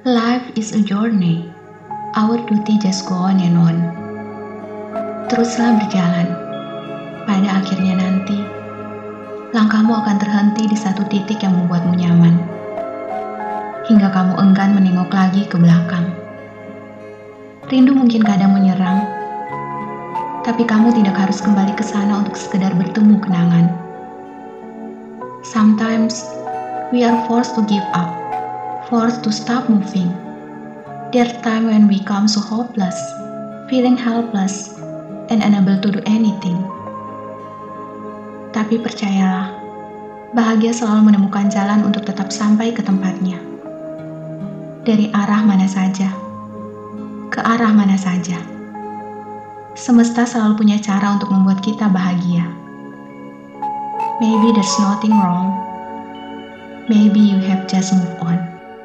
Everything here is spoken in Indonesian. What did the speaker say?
Life is a journey. Our duty just go on and on. Teruslah berjalan. Pada akhirnya nanti, langkahmu akan terhenti di satu titik yang membuatmu nyaman. Hingga kamu enggan menengok lagi ke belakang. Rindu mungkin kadang menyerang, tapi kamu tidak harus kembali ke sana untuk sekedar bertemu kenangan. Sometimes, we are forced to give up, forced to stop moving. There are times when we become so hopeless, feeling helpless, and unable to do anything. Tapi percayalah, bahagia selalu menemukan jalan untuk tetap sampai ke tempatnya. Dari arah mana saja, ke arah mana saja. Semesta selalu punya cara untuk membuat kita bahagia. Maybe there's nothing wrong. Maybe you have just moved on.